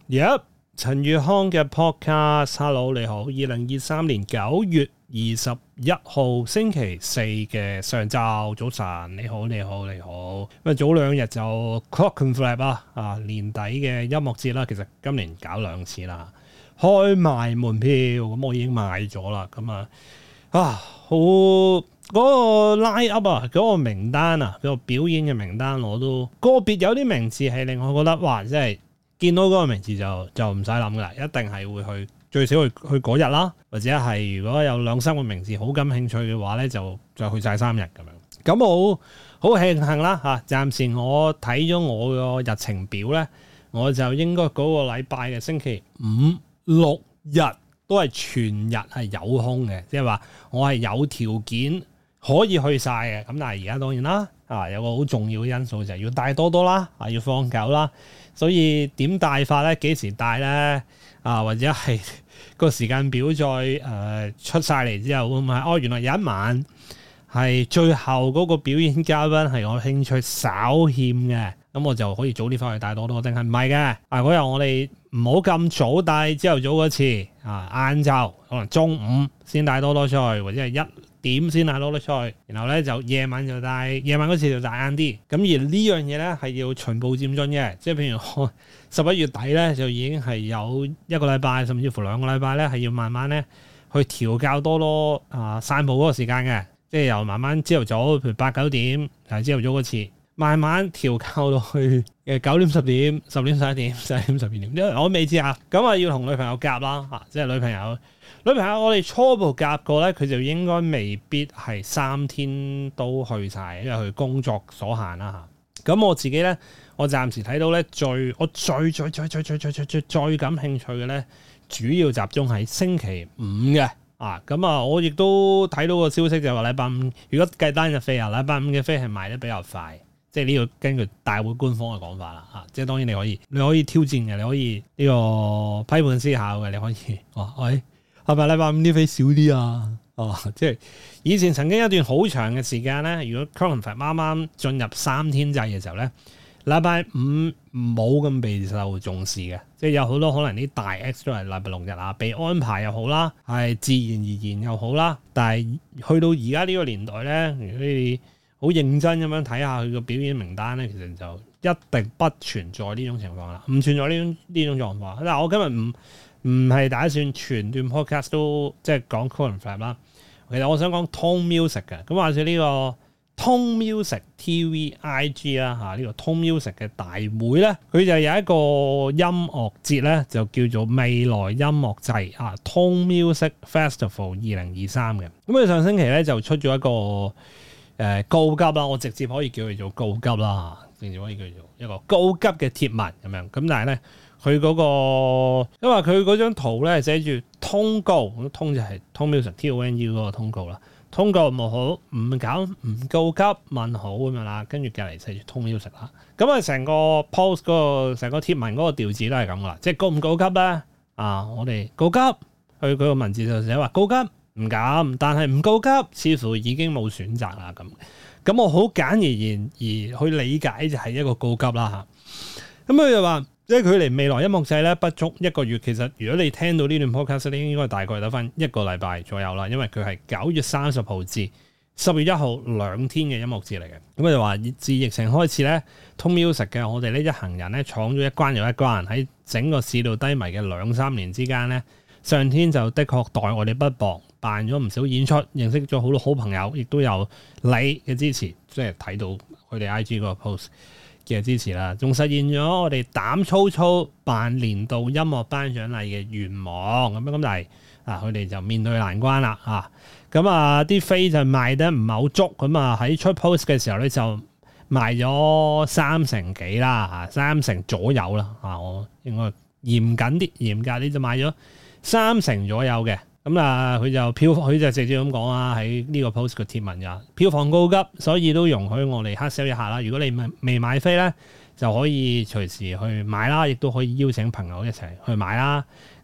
Yep， 陳宇康嘅 podcast，Hello 你好，2023年9月21號星期四嘅上晝早晨，你好。咁啊早兩日就 Clockenflap 年底嘅音樂節啦，其實今年搞2次啦，開賣門票，咁我已經買咗啦，咁好嗰個 line up 嗰個名單嗰個表演嘅名單，我都個別有啲名字係令我覺得哇，真係見到嗰個名字就唔使諗噶啦，一定係會去最少去嗰日啦，或者係如果有2-3個名字好感興趣嘅話咧，就去晒3日咁樣。咁我好慶幸啦暫時我睇咗我個日程表咧，我就應該嗰個禮拜嘅星期5、6日都係全日係有空嘅，即係話我係有條件可以去晒嘅。咁但係而家當然啦，有個好重要嘅因素就係要帶多多啦，要放狗啦。所以點帶法咧？幾時帶咧？或者係個時間表再出晒嚟之後，會唔係原來有一晚係最後嗰個表演嘉賓係我興趣稍欠嘅，咁我就可以早啲翻去帶多多，定係唔係嘅？嗰日我哋唔好咁早帶，朝頭早嗰次晏晝可能中午先帶多多出去，或者係1點先帶多多出去，然後咧就夜晚嗰次就帶晏啲。咁而呢樣嘢咧係要循步漸進嘅，即係譬如我11月底咧就已經係有1個禮拜，甚至乎2個禮拜咧係要慢慢咧去調教多多散步嗰個時間嘅，即係由慢慢朝頭早，譬如8、9點係朝頭早嗰次，慢慢調教到去9點、10點、10點、11點、11點、12點，因為我未知啊。咁要同女朋友夾啦即係女朋友我哋初步夾過咧，佢就應該未必係3天都去晒，因為佢工作所限啦咁我自己咧，我暫時睇到咧最感興趣嘅咧，主要集中喺星期5嘅咁我亦都睇到個消息就話禮拜5，如果計單日飛禮拜5嘅飛係賣得比較快，即係呢個根據大會官方嘅講法啦即係當然你可以挑戰嘅，你可以呢個批判思考嘅，你可以係咪禮拜5啲飛少啲啊？即係以前曾經一段好長嘅時間咧，如果 Clockenflap 啱啱進入3天制嘅時候咧，禮拜5冇咁備受重視嘅，即係有好多可能啲大 X 都係禮拜6日被安排又好啦，係自然而然又好啦。但係去到而家呢個年代咧，如果你好認真咁樣睇下佢個表演名單咧，其實就一定不存在呢種情況啦，唔存在呢種狀況。但係我今日唔係打算全段 podcast 都即係講 Clockenflap 啦。其實我想講 Tone Music 嘅，咁或者呢個 Tone Music TVIG 啦呢個 Tone Music 嘅大會咧，佢就有一個音樂節咧，就叫做未來音樂祭Tone Music Festival 2023嘅。咁佢上星期咧就出咗一個告急啦，我直接可以叫佢做告急啦，直接可以叫做一個告急嘅貼文咁樣。咁但係咧，佢嗰個因為佢嗰張圖咧寫住通告，通就係 Tone Music TONE 嗰個通告啦。通告冇好，唔告急問好咁樣啦，跟住隔離寫住 Tone Music啦。咁成個 post 嗰個成個貼文嗰個調子都係咁噶啦，即係告唔告急咧？我哋告急，佢個文字就寫話告急唔敢，但係唔告急似乎已經冇選擇啦咁我好簡而言而去理解就係一個告急啦咁佢就話，即係距離未來音樂祭咧不足1個月，其實如果你聽到呢段 podcast 咧，應該大概得翻1個禮拜左右啦，因為佢係9月30號至10月1號2天嘅音樂節嚟嘅。咁佢就話自疫情開始咧，Tone Music 嘅我哋呢一行人咧闖咗一關又一關，喺整個市道低迷嘅2-3年之間咧，上天就的確待我哋不薄，辦咗唔少演出，認識咗好多好朋友，亦都有你嘅支持，即係睇到佢哋 IG 嗰個 post嘅支持啦，仲實現咗我哋膽粗粗辦年度音樂頒獎禮嘅願望咁，但係佢哋就面對難關啦啲飛就賣得唔係好足，喺出 post 嘅時候咧就賣咗30幾啦30左右啦我應該嚴格啲就賣咗30左右嘅。佢就直接咁講喺呢個 post 嘅貼文票房告急，所以都容許我哋黑 sell 一下啦。如果你未買飛咧，就可以隨時去買啦，亦都可以邀請朋友一齊去買啦。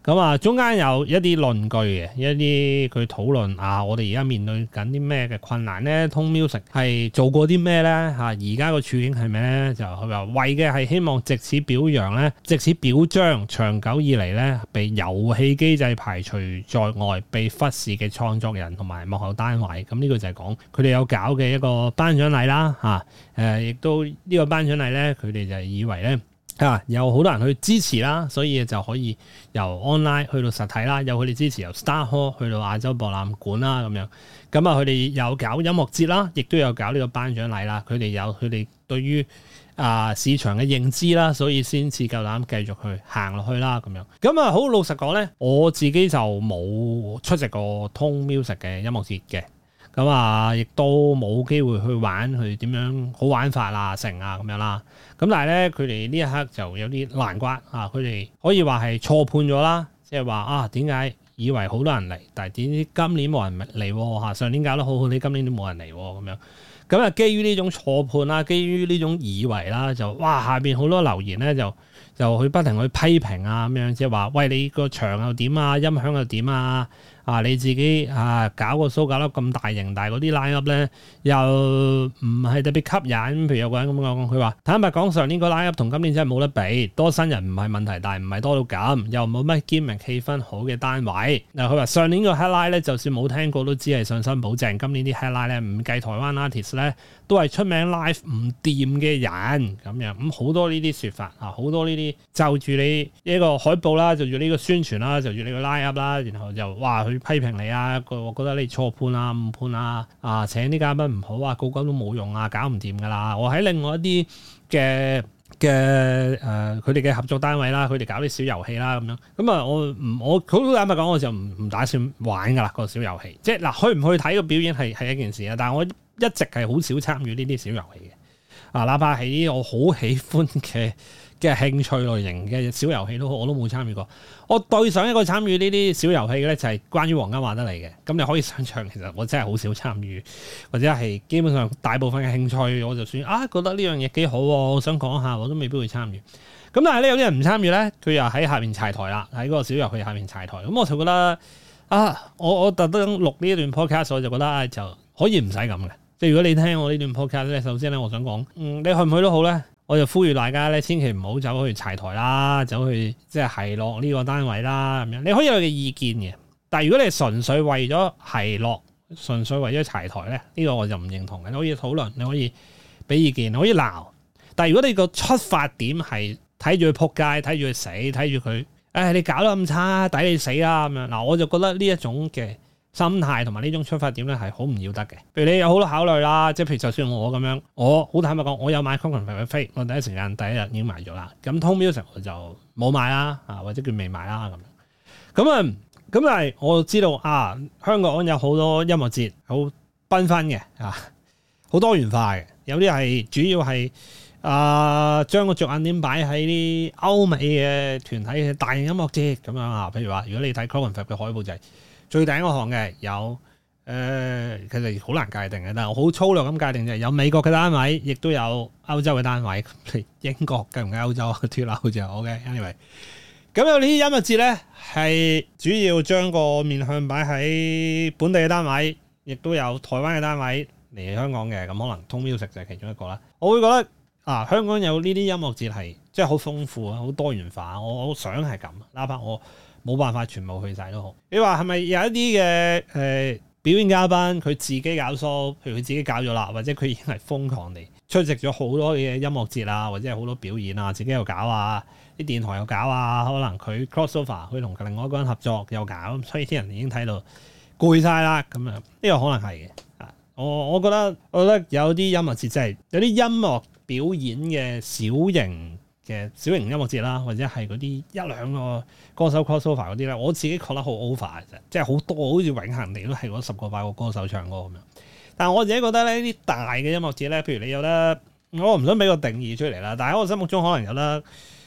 咁啊，中間有一啲論據嘅，一啲佢討論我哋而家面對緊啲咩嘅困難咧？Tone Music 係做過啲咩咧？而家個處境係咩咧？就佢話為嘅係希望藉此表揚咧，藉此表彰長久以嚟咧被遊戲機制排除在外、被忽視嘅創作人同埋幕後單位。咁呢個就係講佢哋有搞嘅一個頒獎禮啦，亦都呢個頒獎禮咧，佢哋就以為咧。有好多人去支持啦，所以就可以由 online 去到實體啦，有佢哋支持由 Star Hall 去到亞洲博覽館啦咁樣。咁佢哋有搞音樂節啦，亦都有搞呢個頒獎禮啦。佢哋有佢哋對於市場嘅認知啦，所以先至夠膽繼續去行落去啦咁樣。咁好老實講咧，我自己就冇出席過 Tone Music 嘅音樂節嘅。咁亦都冇機會去玩，去點樣好玩法成咁樣啦。咁但係咧，佢哋呢一刻就有啲難關佢哋可以話係錯判咗啦，即係話點解以為好多人嚟，但係點知今年冇人嚟上年搞得好好，你今年都冇人嚟咁樣。咁基於呢種錯判啦，基於呢種以為啦，就下邊好多留言咧就去不停去批評咁樣，即係話喂，你個場又點啊，音響又點啊？你自己搞個 show 搞得咁大型，但係嗰啲 line up 咧又唔係特別吸引。譬如有個人咁講，佢話坦白講，上年個 line up 同今年真係冇得比，多新人唔係問題，但係唔係多到咁，又冇乜 gimmick 氣氛好嘅單位。嗱，佢話上年個 headline 咧，就算冇聽過都只係信心保證。今年啲 headline 咧，唔計台灣 artist 咧，都係出名 live 唔掂嘅人咁樣。咁好多呢啲説法好多呢啲就住你一個海報啦，就住呢個宣傳啦，就住你個 line up 啦，然後就去批評你我覺得你錯判誤判請啲嘉賓唔好個個都冇用搞唔掂噶啦。我喺另外一啲嘅佢哋嘅合作單位啦，佢哋搞啲小遊戲啦咁樣。咁我好坦白講，我就唔打算玩噶啦個小遊戲。即係去唔去睇個表演係一件事但係我一直係好少參與呢啲小遊戲嘅哪怕係啲我好喜歡嘅興趣類型嘅小遊戲我都冇參與過。我對上一個參與呢啲小遊戲嘅咧，就係關於黃金馬德里嘅。咁你可以想象，其實我真係好少參與，或者係基本上大部分嘅興趣，我就算覺得呢樣嘢幾好，我想講下，我都未必會參與。咁但係咧，有啲人唔參與咧，佢又喺下面柴台啦，喺嗰個小遊戲下面柴台。咁我就覺得我特登錄呢一段 podcast，我就覺得就可以唔使咁嘅。即係如果你聽我呢段 podcast 咧，首先咧，我想講，你去唔去都好咧。我就呼籲大家咧，千祈唔好走去柴台啦，走去即係落呢個單位啦咁樣。你可以有嘅意見嘅，但係如果你純粹為咗係落，純粹為咗柴台咧，呢個我就唔認同嘅。你可以討論，你可以俾意見，你可以鬧。但係如果你個出發點係睇住佢撲街，睇住佢死，睇住佢，你搞得咁差，抵你死啦咁樣。嗱，我就覺得呢一種嘅心態同埋呢種出發點咧係好唔要得嘅。譬如你有好多考慮啦，即係譬如就算我咁樣，我好坦白講，我有買 Clockenflap 嘅飛，我第一時間第一日已經買咗啦。咁 Tone Music 我就冇買啦，或者叫未買啦咁樣。咁但係我知道香港有好多音樂節好繽紛嘅好多元化嘅，有啲係主要係將個着眼點擺喺啲歐美嘅團體嘅大型音樂節咁樣譬如話，如果你睇 Clockenflap 嘅海報就係最頂嗰行嘅有其實好難界定嘅，但係我好粗略咁界定就係有美國嘅單位，亦都有歐洲嘅單位。英國計唔計歐洲脫歐就 OK。Anyway， 咁有呢啲音樂節咧，係主要將個面向擺喺本地嘅單位，亦都有台灣嘅單位嚟香港嘅。咁可能 Tone Music 就係其中一個啦。我會覺得香港有呢啲音樂節係即係好豐富好多元化。我想係咁，哪怕我冇辦法全部去晒都好。你話係咪有一啲嘅表演嘉賓佢自己搞 show，譬如佢自己搞咗啦，或者佢已經係瘋狂地出席咗好多嘅音樂節或者係好多表演自己又搞啲電台又搞可能佢 crossover， 佢同另外一個人合作又搞，所以啲人已經睇到攰晒啦咁樣。呢個可能係嘅。我覺得有啲音樂節真係有啲音樂表演嘅小型音樂節啦，或者係嗰啲一兩個歌手 crossover 嗰啲咧，我自己覺得好 over 嘅啫，即係好多好似永恆地都係嗰10個8個歌手唱歌咁樣。但係我自己覺得咧，啲大嘅音樂節咧，譬如你有得，我唔想俾個定義出嚟啦，但係喺我心目中可能有得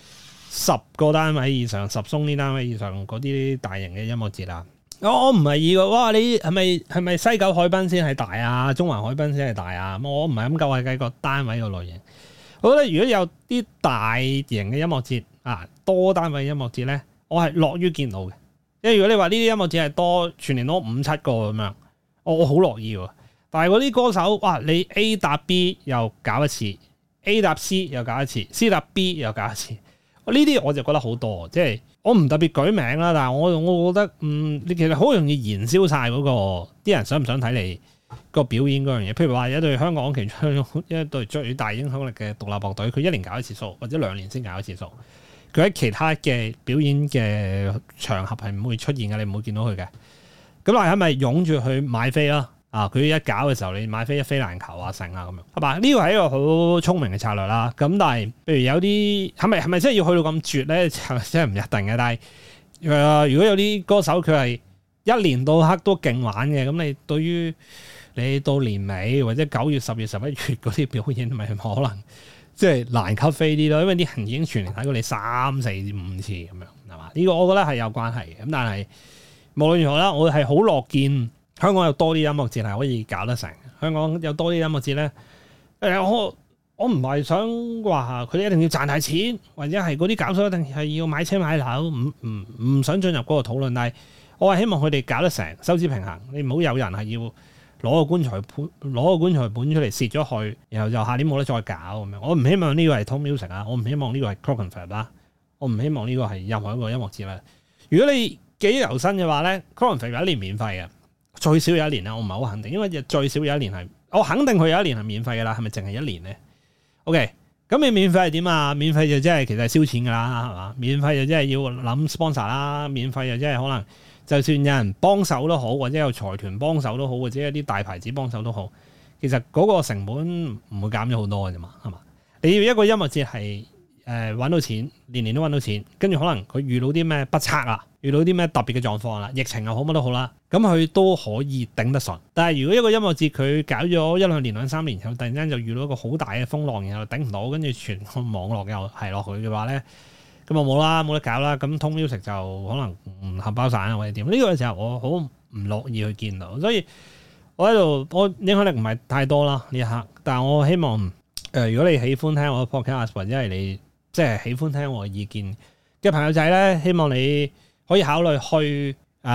10個單位以上、10鬆啲單位以上嗰啲大型嘅音樂節啦。我唔係以個哇，你係咪西九海濱先係大中環海濱先係大我唔係咁計個單位個類型。我覺得如果有啲大型嘅音樂節多單位音樂節咧， 我係樂於見到嘅。因為如果你話呢啲音樂節係多全年多5-7個咁樣，我好樂意喎。但係嗰啲歌手，哇！你 A 搭 B 又搞一次，A 搭 C 又搞一次，C 搭 B 又搞一次，呢啲我就覺得好多。即係我唔特別舉名啦，但係我覺得你其實好容易燃燒晒嗰個啲人想唔想睇你個表演嗰樣嘢。譬如話有一隊香港其中一隊最大影響力嘅獨立樂隊，佢1年搞一次 show，或者2年先搞一次 show。佢喺其他嘅表演嘅場合係唔會出現嘅，你唔會見到佢嘅。咁但係咪湧住去買飛啦？佢一搞嘅時候，你買飛一飛難求啊，成啊咁樣，係嘛？呢個係一個好聰明嘅策略啦。咁但係，譬如有啲係咪真係要去到咁絕咧？就真係唔一定嘅。但係如果有啲歌手佢係一年到黑都勁玩嘅，咁你對於你到年尾或者9月、10月、11月嗰啲表演，咪可能即係難吸飛啲咯。因為啲人已經全年睇過你3、4、5次咁樣，係嘛？呢個我覺得係有關係嘅。咁但係無論如何啦，我係好樂見香港有多啲音樂節係可以搞得成。香港有多啲音樂節咧，我唔係想話佢哋一定要賺大錢，或者係嗰啲搞手一定係要買車買樓，唔想進入嗰個討論。但係我係希望佢哋搞得成，收支平衡。你唔好有人係要攞個棺材本出嚟蝕咗去，然後就下年冇得再搞咁樣。我唔希望呢個係 Tone Music 啊，我唔希望呢個係 Clockenflap 啦，我唔希望呢個係任何一個音樂節啦。如果你記憶猶新嘅話咧，Clockenflap 有一年免費嘅。最少有一年啦，我唔係好肯定，因為最少有一年係，我肯定佢有一年係免費嘅啦，係咪淨係1年咧 ？OK， 咁你免費係點啊？免費就即係其實係燒錢噶啦，係嘛？免費就即係要諗 sponsor 啦，免費就即係可能就算有人幫手都好，或者有財團幫手都好，或者有啲大牌子幫手都好，其實嗰個成本唔會減咗好多嘅啫嘛，係嘛？你要一個音樂節係揾到錢，年年都揾到錢，跟住可能佢遇到啲咩不測啊，遇到啲咩特別嘅狀況啦，疫情又好乜都好啦，咁佢都可以頂得順。但係如果一個音樂節佢搞咗1-2年、2-3年後，突然間就遇到一個好大嘅風浪，然後頂唔到，跟住全個網絡又係落去嘅話咧，咁就冇啦，冇得搞啦。咁Tone Music就可能唔合包散啊，或者點？呢個時候我好唔樂意去見到，所以我喺度，我影響力唔係太多啦呢一刻。但係我希望如果你喜歡聽我嘅 podcast 或者係你即係喜歡聽我嘅意見嘅朋友仔咧，希望你可以考慮去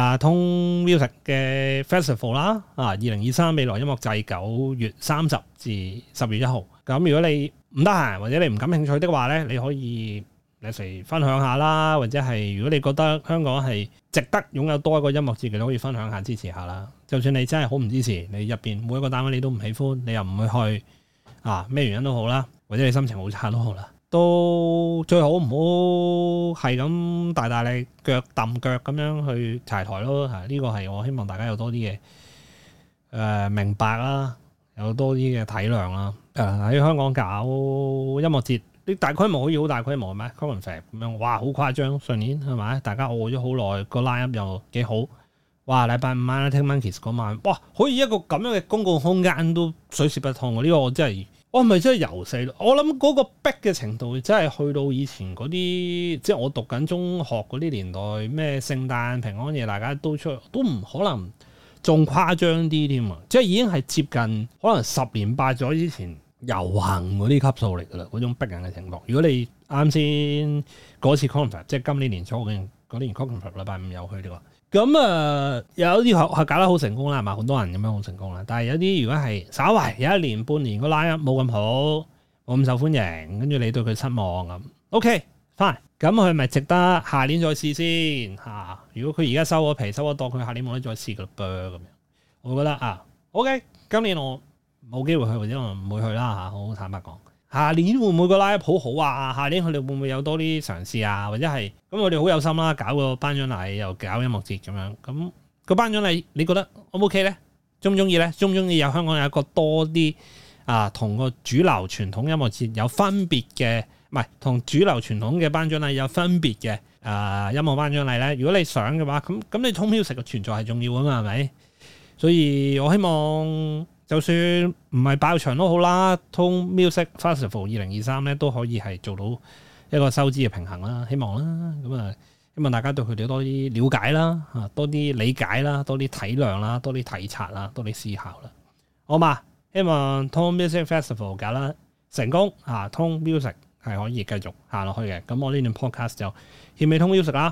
Tone Music 嘅 Festival 啦，2023未來音樂祭9月30至10月1號。咁如果你唔得閒或者你唔感興趣的話咧，你可以嚟分享下啦，或者係如果你覺得香港係值得擁有多一個音樂節，你可以分享下支持下啦。就算你真係好唔支持，你入邊每一個單位你都唔喜歡，你又唔會去咩原因都好啦，或者你心情好差都好啦。都最好唔好係咁大力腳揼腳咁樣去柴台咯。呢個係我希望大家有多啲嘅明白啦，有多啲嘅體諒啦。喺香港搞音樂節，啲大規模可以好大規模咩 Clockenflap 咁樣，哇好誇張！上年係咪大家餓咗好耐，個 line-up 又幾好，哇禮拜5晚 Arctic Monkeys 嗰晚，哇可以一個咁樣嘅公共空間都水泄不通喎！呢個我真係〜我係咪真係游死咯？我諗嗰個逼嘅程度真係去到以前嗰啲，即係我讀緊中學嗰啲年代，咩聖誕平安夜大家都出，都唔可能仲誇張啲添啊！即係已經係接近可能10年8載之前遊行嗰啲級數嚟㗎啦，嗰種逼人嘅情況。如果你啱先嗰次 Clockenflap，即係今年年初嗰年 Clockenflap 禮拜5有去嘅話。咁有啲係搞得好成功啦，係嘛？好多人咁樣好成功啦。但係有啲如果係稍為有1年半年個 line-up 冇咁好，冇咁受歡迎，跟住你對佢失望咁 ，OK fine。咁佢咪值得下年再試先嚇？如果佢而家收咗皮收咗檔，佢下年冇得再試㗎啦噃咁樣。我覺得OK，今年我冇機會去或者我唔會去啦嚇，好坦白講。下年會唔會個 line-up 好好啊？下年佢哋會唔會有多啲嘗試啊？或者係咁，我哋好有心啦，搞個頒獎禮又搞音樂節咁樣。咁個頒獎禮你覺得 O 唔 OK 咧？中唔中意咧？中唔中意有香港有一個多啲同個主流傳統音樂節有分別嘅，唔係同主流傳統嘅頒獎禮有分別嘅音樂頒獎禮咧？如果你想嘅話，咁你 Tone Music 嘅存在係重要啊嘛，係咪？所以我希望。就算唔係爆場都好啦，Tone Music Festival 2023咧都可以係做到一個收支嘅平衡啦，希望啦，咁希望大家對佢哋多啲了解啦，多啲理解啦，多啲體諒啦，多啲體察啦，多啲思考啦，好嘛？希望 Tone Music Festival 搞啦成功，Tone Music 係可以繼續行落去嘅。咁我呢段 podcast 就獻俾 Tone Music 啦。咁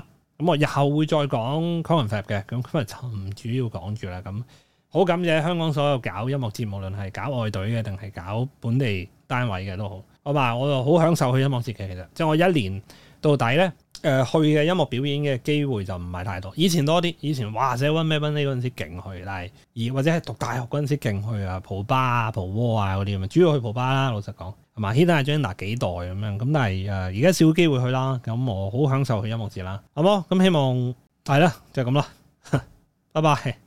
咁我日後會再講 Conference 嘅，咁今日就唔主要講住啦。咁好感謝香港所有搞音樂節，無論係搞外隊嘅定係搞本地單位嘅都好。我話我就好享受去音樂節嘅，其實即係我一年到底咧。去嘅音樂表演嘅機會就唔係太多，以前多啲，以前哇寫溫咩溫呢嗰陣時勁去，但係或者係讀大學嗰陣時勁去啊，蒲吧啊、蒲窩啊嗰啲咁啊，主要去蒲吧啦，老實講，係嘛 Hidden Agenda 幾代咁樣，咁但係而家少機會去啦，咁我好享受去音樂節啦，好冇？咁希望係啦，就係咁啦，拜拜。